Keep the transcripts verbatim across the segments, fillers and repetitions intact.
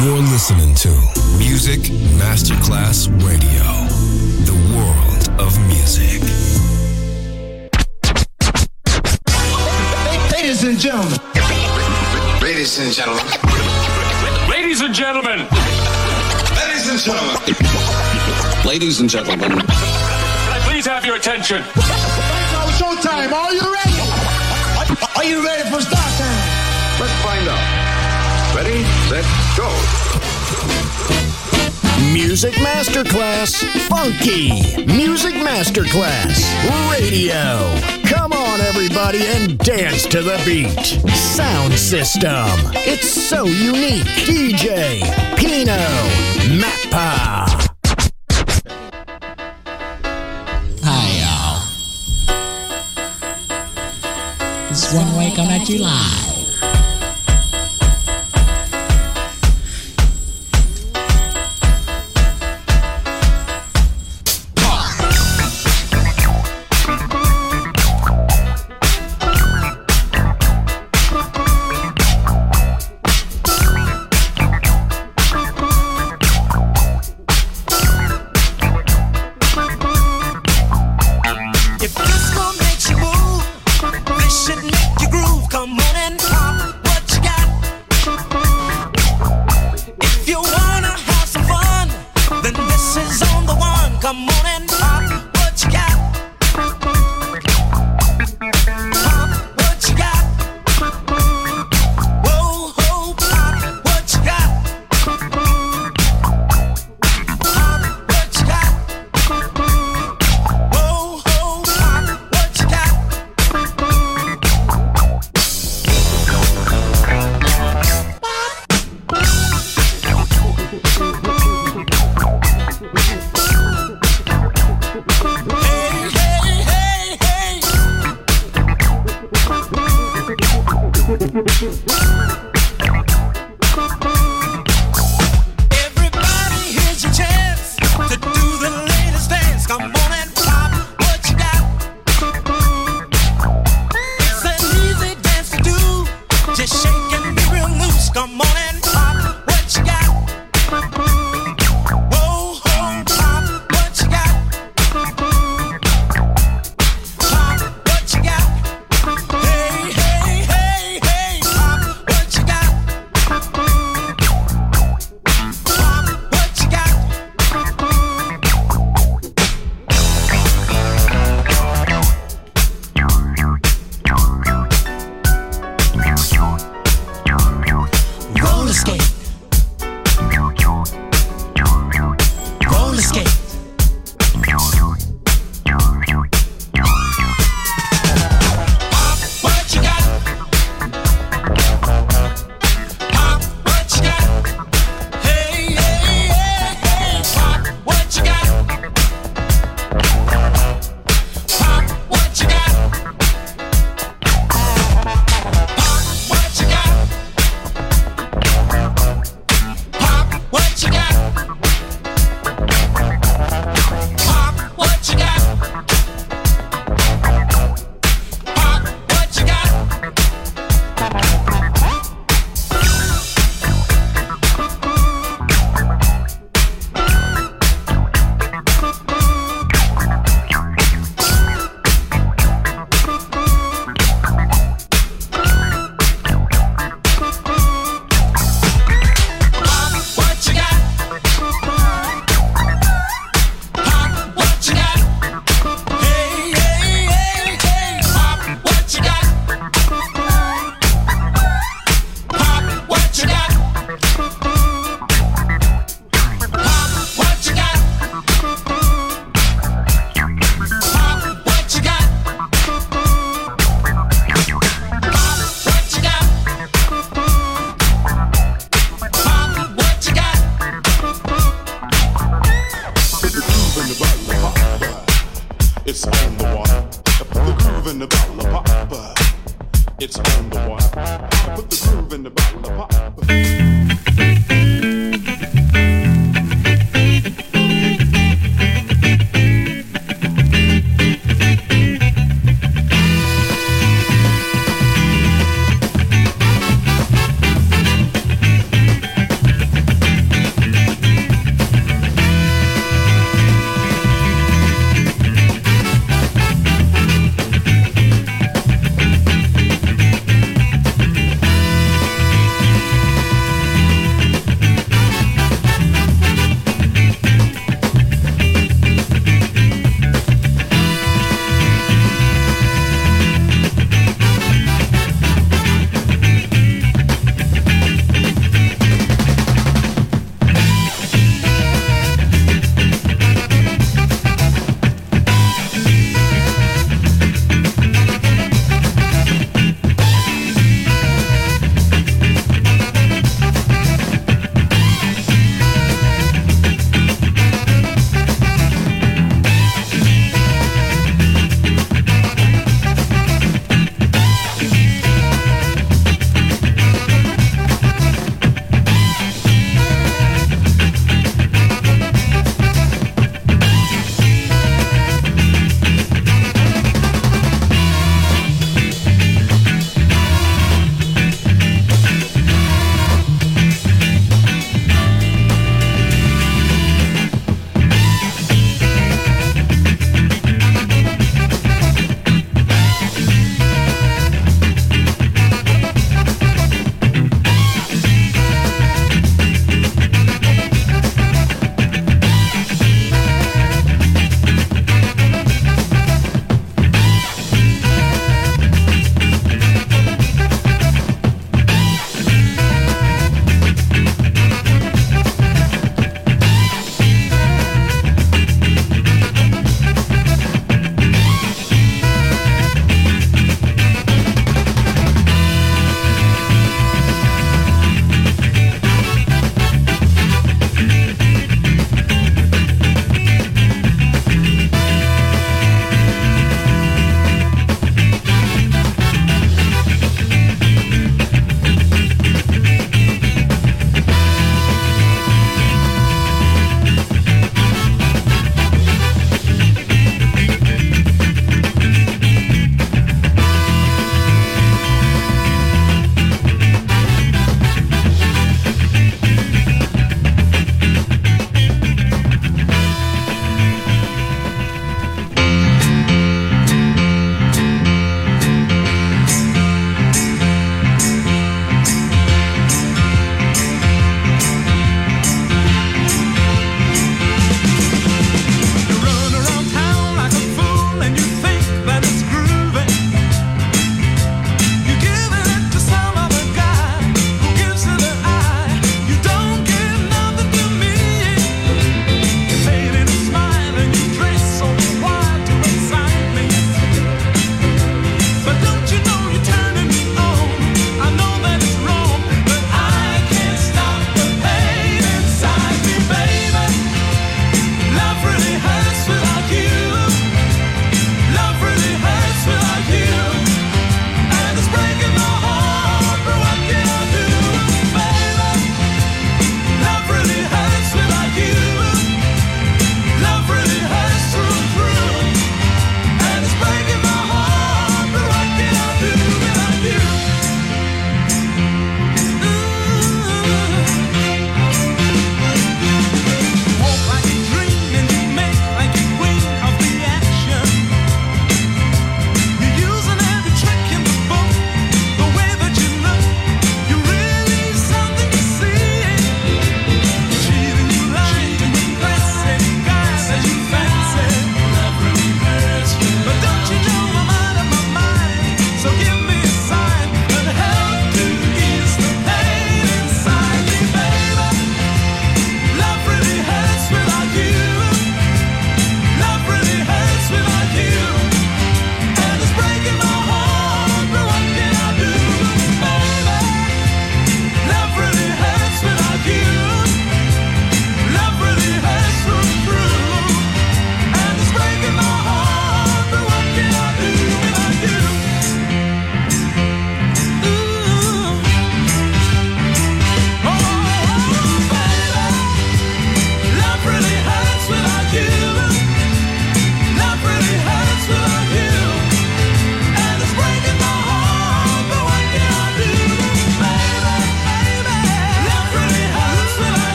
You're listening to Music Masterclass Radio, the world of music. Ladies and gentlemen. Ladies and gentlemen. Ladies and gentlemen. Ladies and gentlemen. Ladies and gentlemen. Can I please have your attention? Now it's showtime. Are you ready? Are you ready for start time? Let's find out. Ready, set, go. Music Masterclass Funky. Music Masterclass Radio. Come on, everybody, and dance to the beat. Sound system. It's so unique. D J Pino Mappa. Hi, y'all. This is One Way coming at you live. If disco makes you move, this should make you groove. Come on and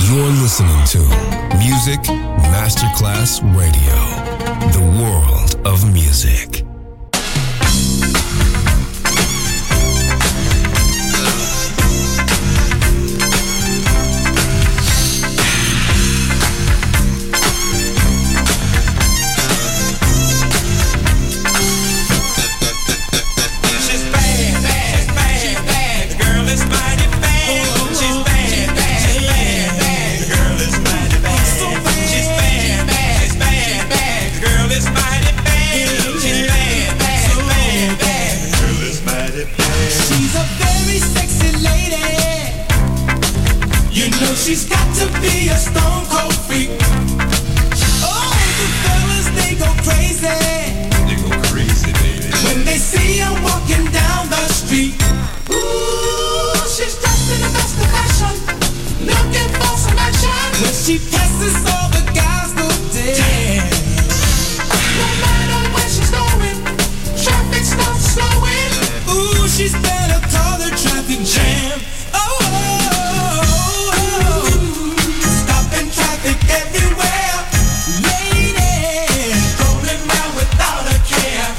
You're listening to Music Masterclass Radio, the world of music. She's got to be a stone cold freak. Oh, the fellas, they go crazy. They go crazy, baby. When they see her walking down the street. Ooh, she's dressed in the best of fashion, looking for some action. When she passes, all the guys go dead. No matter where she's going, traffic stops slowing. Ooh, she's better call the traffic jam. Oh, everywhere, ladies, rolling around without a care.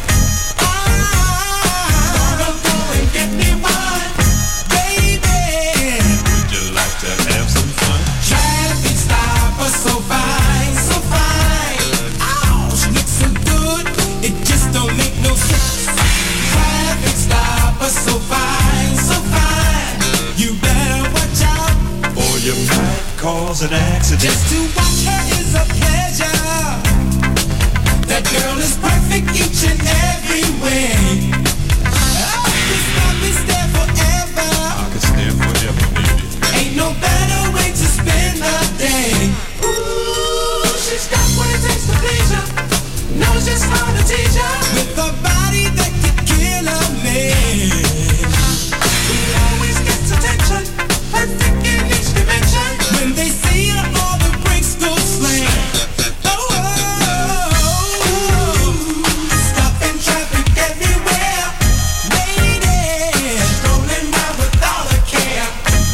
I'm gonna go and get me one, baby. Would you like to have some fun? Traffic stopper, so fine, so fine. Oh, she looks so good, it just don't make no sense. Traffic stopper, so fine, so fine. You better watch out, or you might cause an accident. Just to watch her is a pleasure. That girl is perfect each and every way. I could stop and stare forever. I could stare forever, baby. Ain't no better way to spend the day. Ooh, she's got what it takes to please ya. Knows just how to teach ya. With a body that could kill a man. She always gets attention, perfect in each dimension. When they see her, all the brakes go slam. Oh, oh, oh, stopping traffic everywhere. Ladies, rolling around without a care.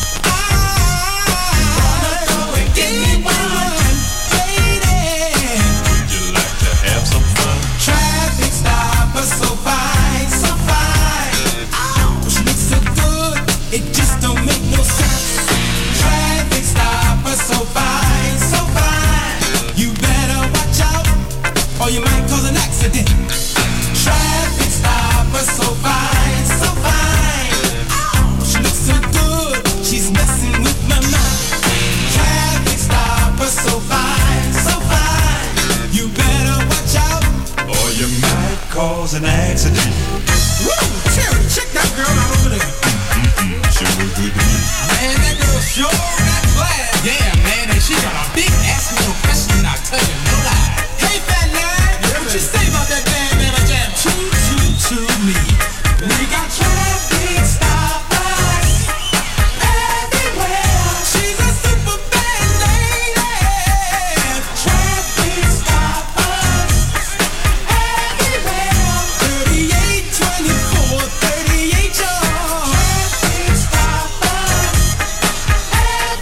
I'm gonna go and get me one, lady. Would you like to have some fun? Traffic stopper, so fine, so fine. Oh, she looks so good, it just don't make no sense. Traffic stopper, so fine, so fine. You better watch out, or you might cause an accident. Traffic stopper, so fine, so fine. Oh, she looks so good, she's messing with my mind. Traffic stopper, so fine, so fine. You better watch out, or you might cause an accident. Woo! Terry, check that girl out over there. Mm-mm-mm. Sure look good to me. Man, that girl sure got class. Yeah, man, and she got a big ass little question, I'll tell you no lie. Hey, fat lad, yeah, what you say about that band, man? I jam two, two, two, me. We got traffic stoppers everywhere. She's a super bad lady. Traffic stoppers everywhere. thirty-eight twenty-four, thirty-eight, y'all. Traffic stoppers everywhere.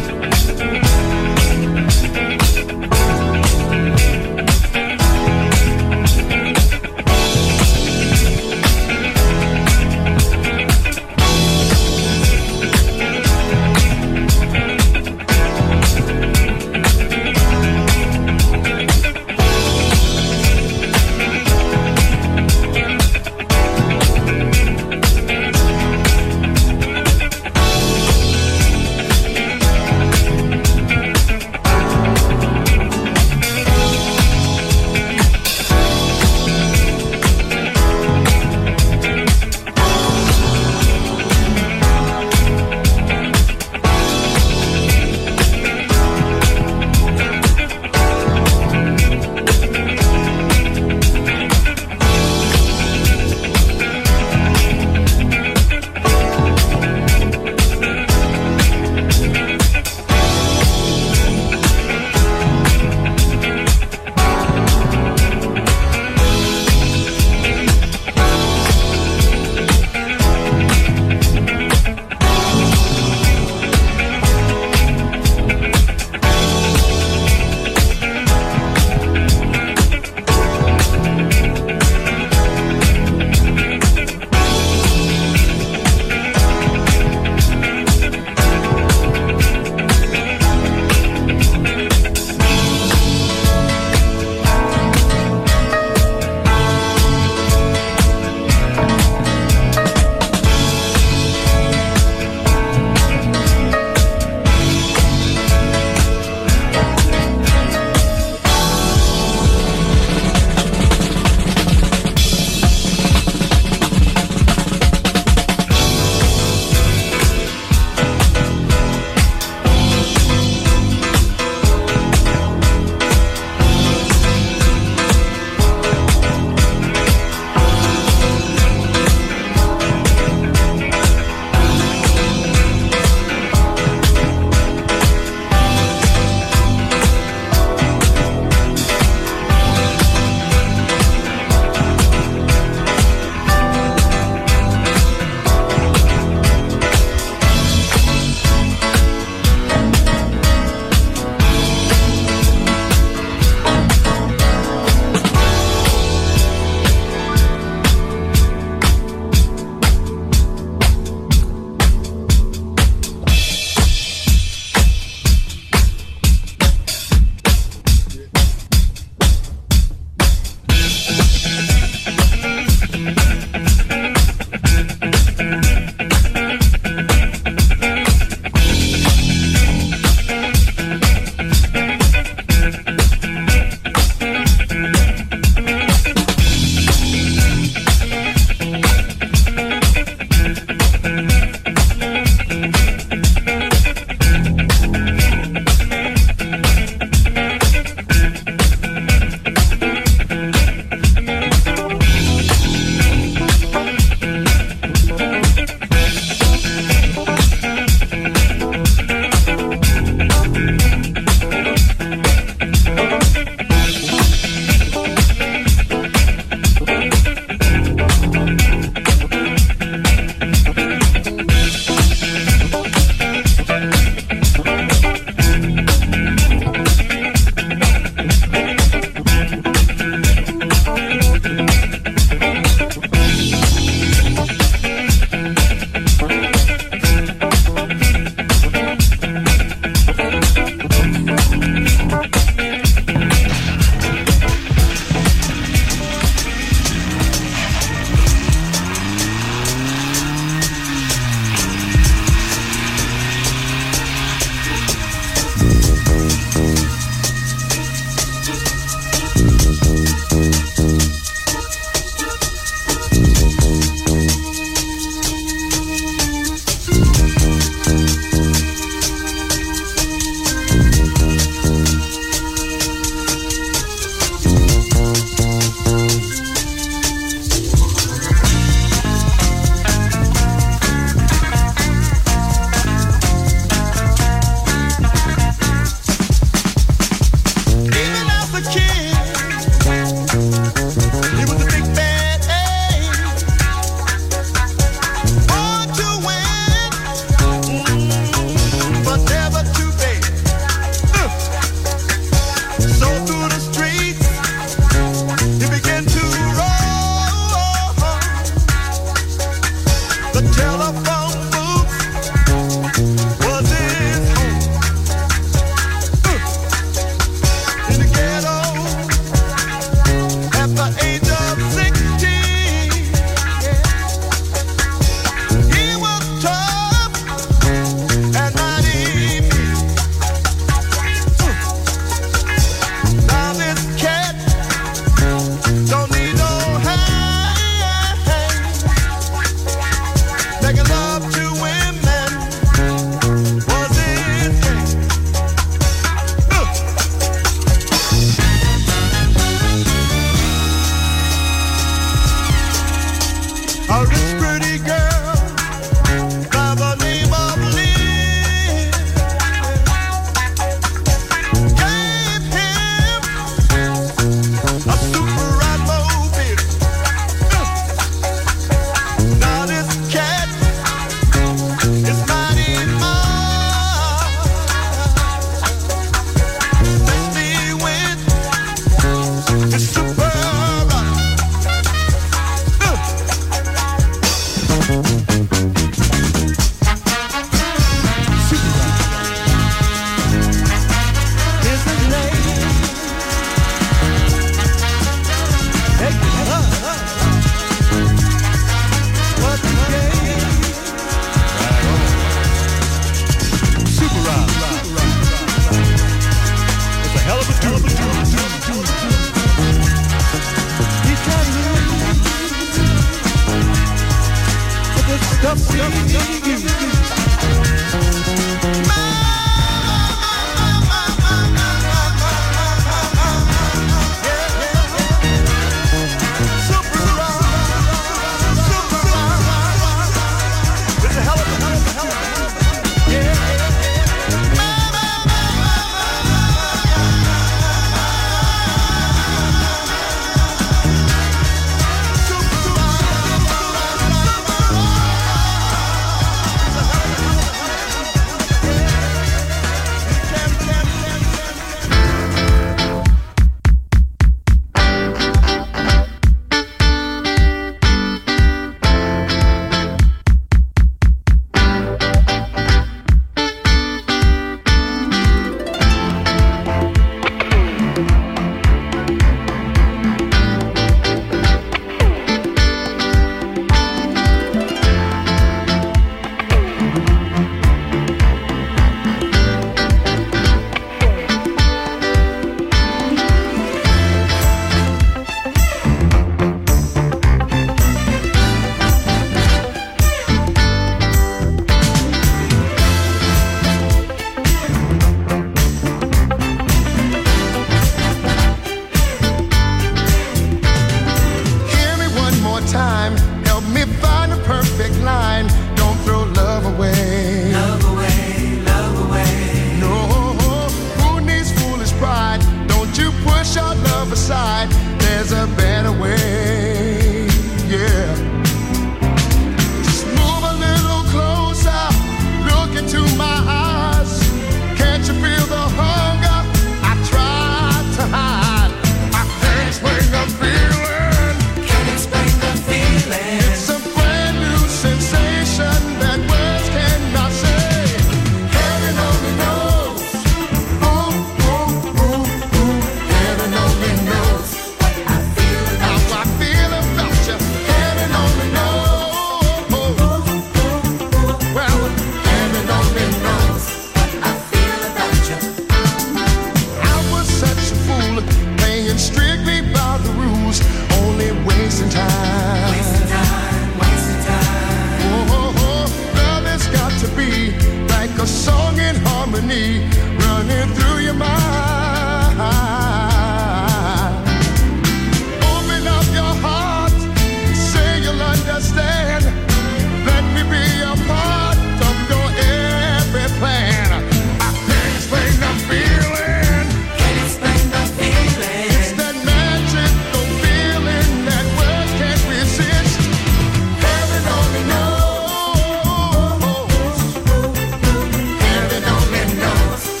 Heaven only knows.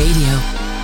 Radio.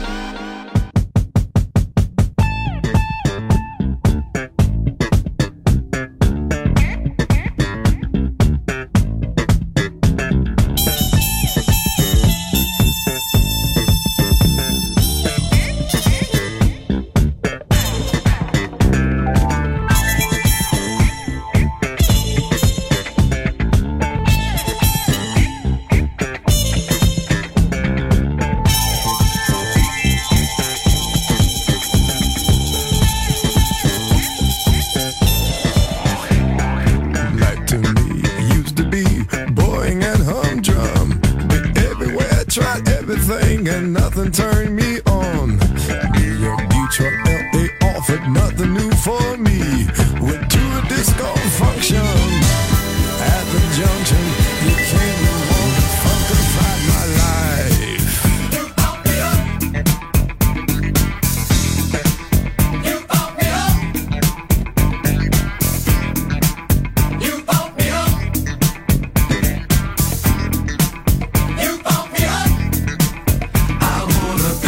And nothing turned me on. New York, Detroit, L A offered nothing new for me. Went to a disco function at the junction. You can't move on to funkified my life. You pump me up. You pump me up. You pump me up. You pump me up. I wanna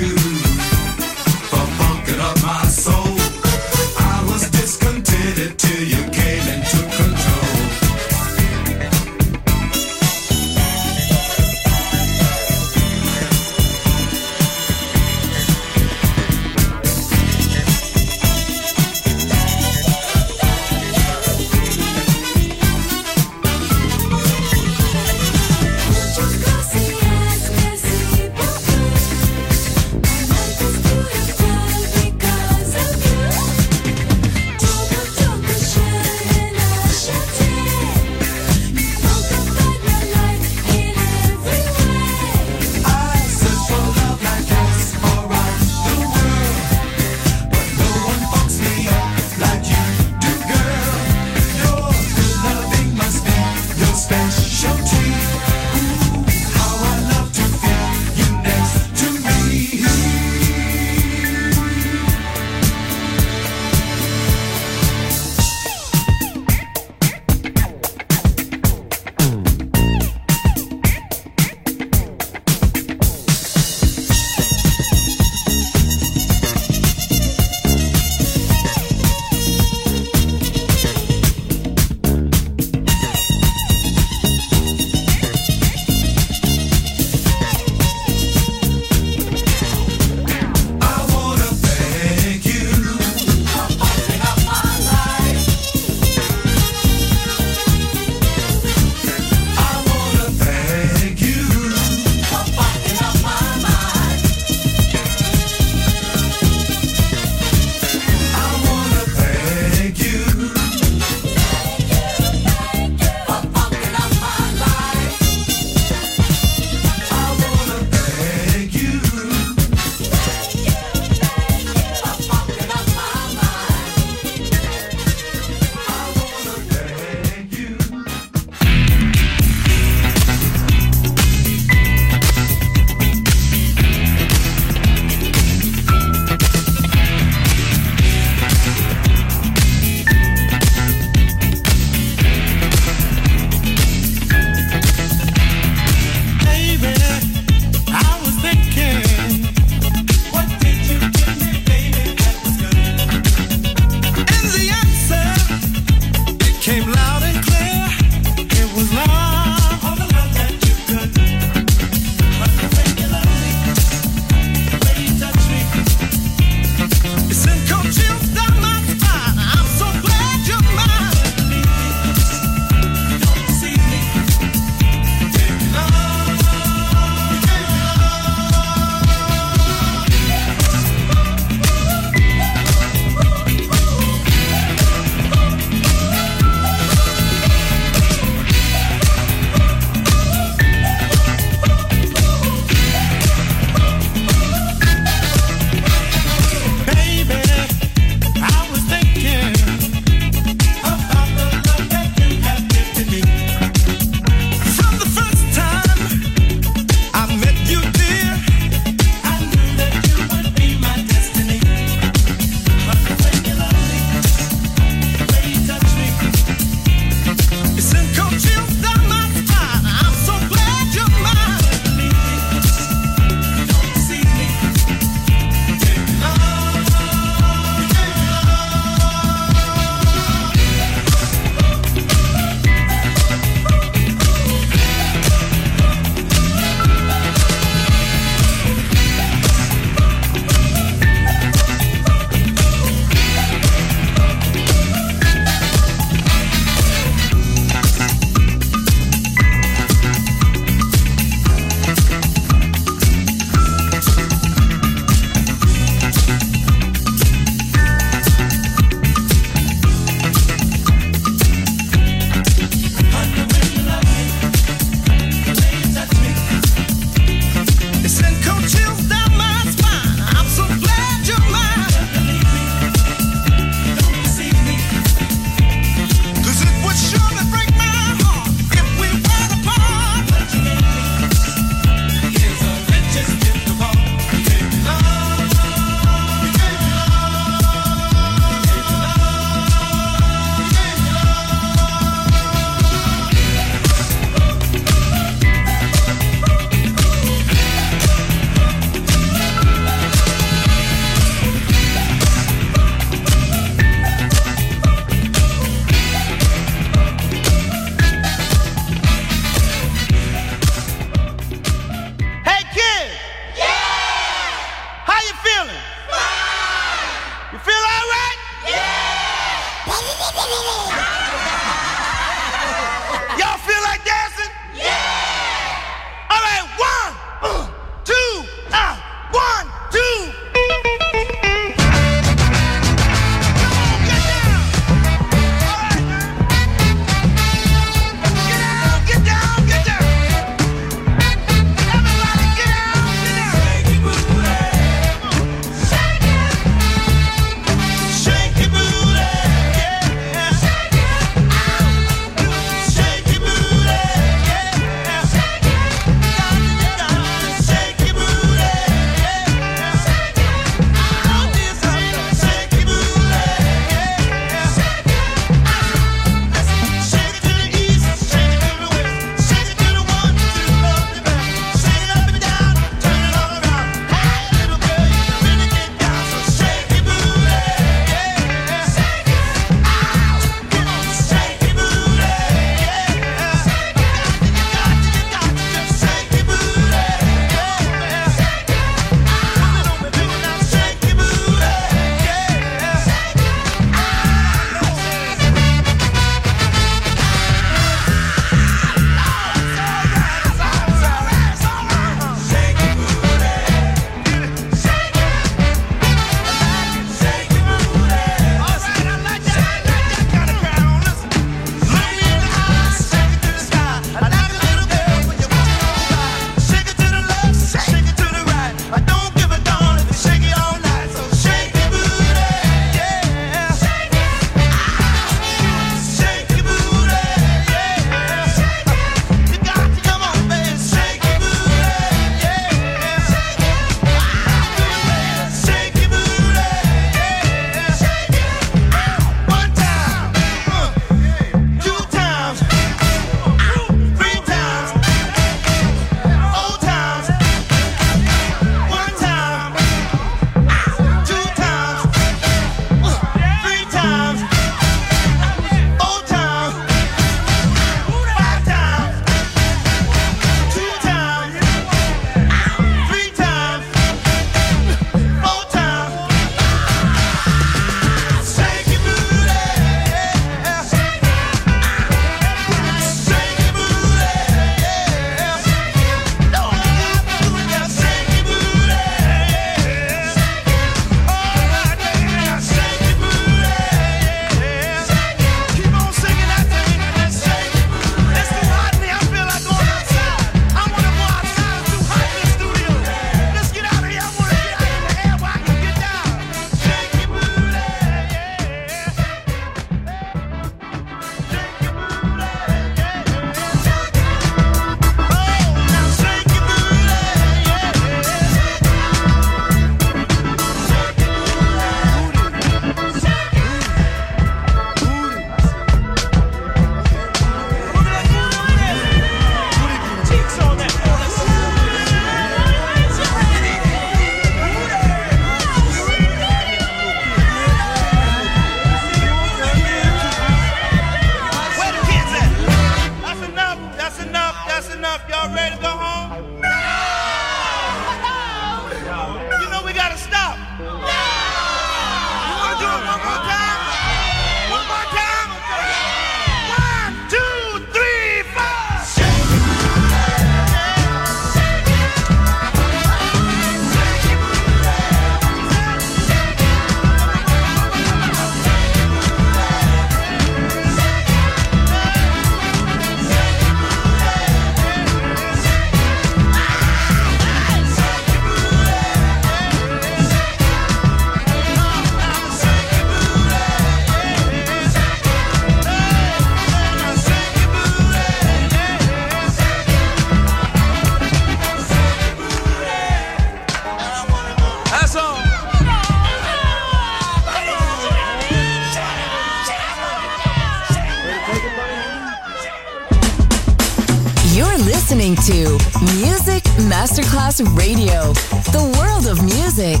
listening to Music Masterclass Radio, the world of music.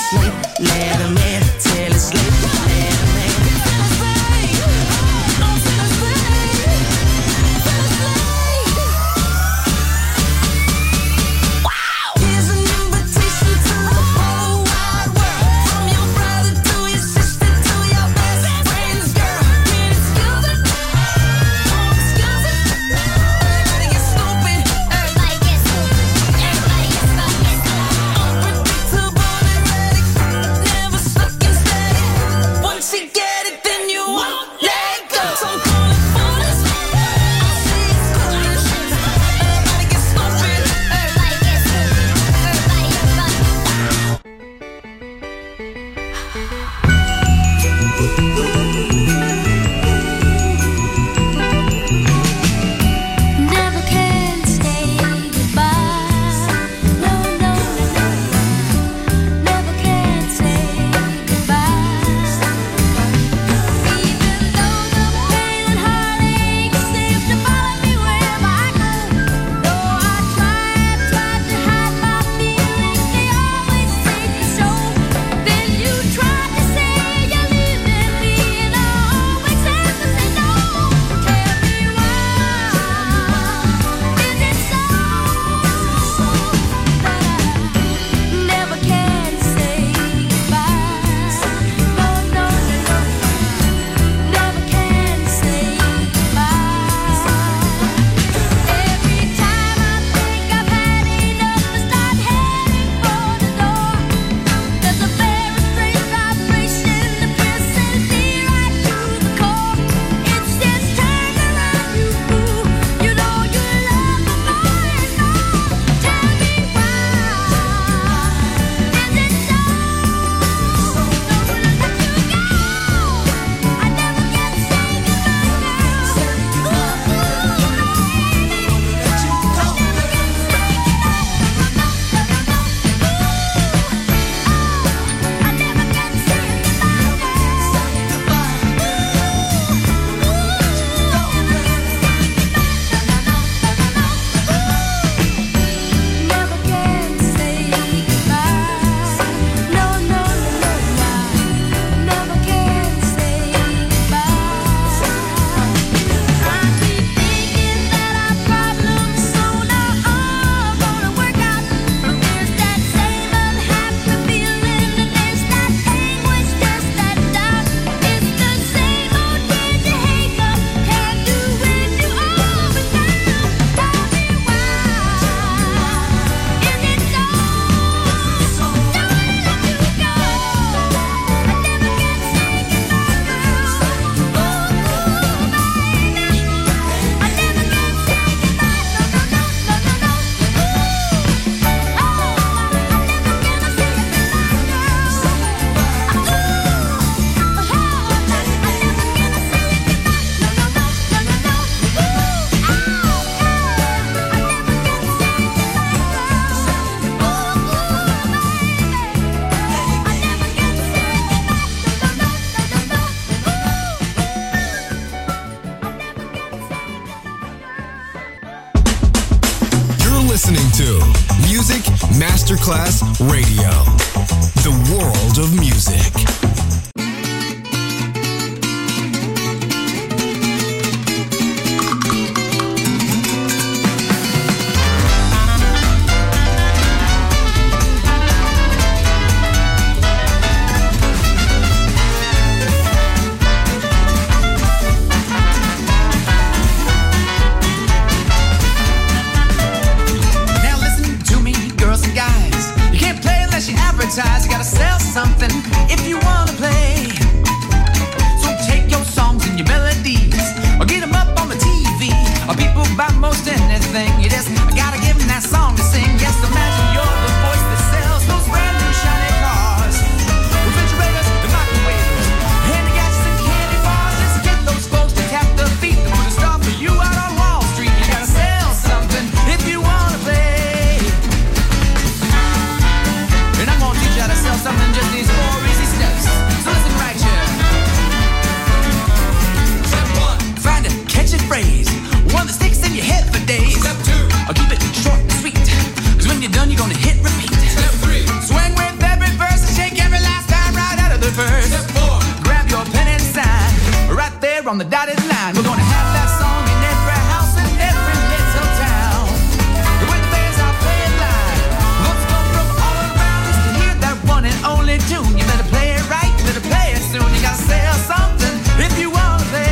asleep. Let him in till it's late. Let him in. listening to Music Masterclass Radio, the world of music. You gotta sell something if you wanna play. So take your songs and your melodies, or get them up on the T V, or people buy most anything. You just gotta give them that song to sing. Yes, imagine you're the voice that sells those brand new shiny cars, refrigerators and microwaves, handy gadgets and candy bars. Just get those folks to tap their feet and put a stop for you out on Wall Street. You gotta sell something if you wanna play. And I'm gonna teach you how to sell something, just these four easy steps. So listen right here. Step one, find a catchy phrase, one that sticks in your head for days. Step two, I'll keep it short and sweet, cause when you're done you on the dotted line. We're gonna have that song in every house and every little town. With the bands I play it live, folks come from all around just to hear that one and only tune. You better play it right, you better play it soon. You gotta sell something if you wanna play.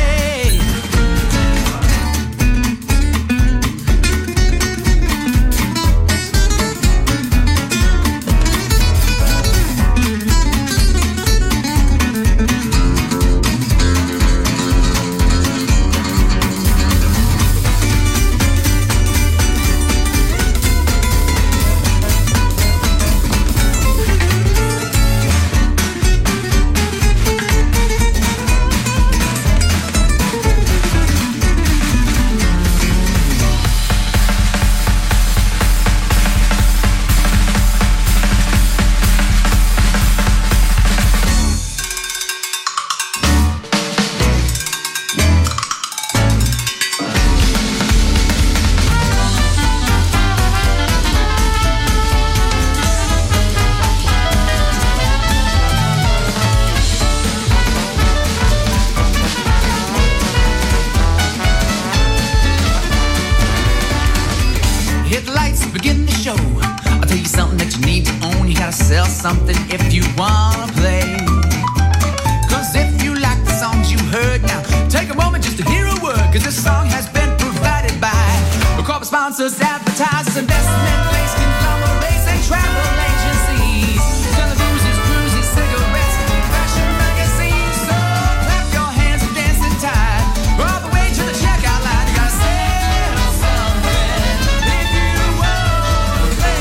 Something if you wanna play. Cause if you like the songs you heard now, take a moment just to hear a word. Cause this song has been provided by corporate sponsors, advertisers, investment banks, conglomerates, and travel agencies. Televisions, cruises, cigarettes, fashion magazines. So clap your hands and dance in time. All the way to the checkout line. You gotta sell something if you wanna play.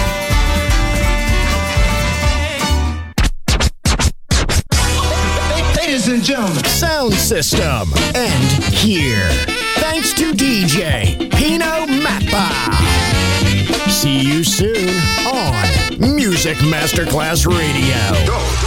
Ladies and gentlemen, sound system and here. Thanks to D J Pino Mappa. See you soon on Music Masterclass Radio. Go.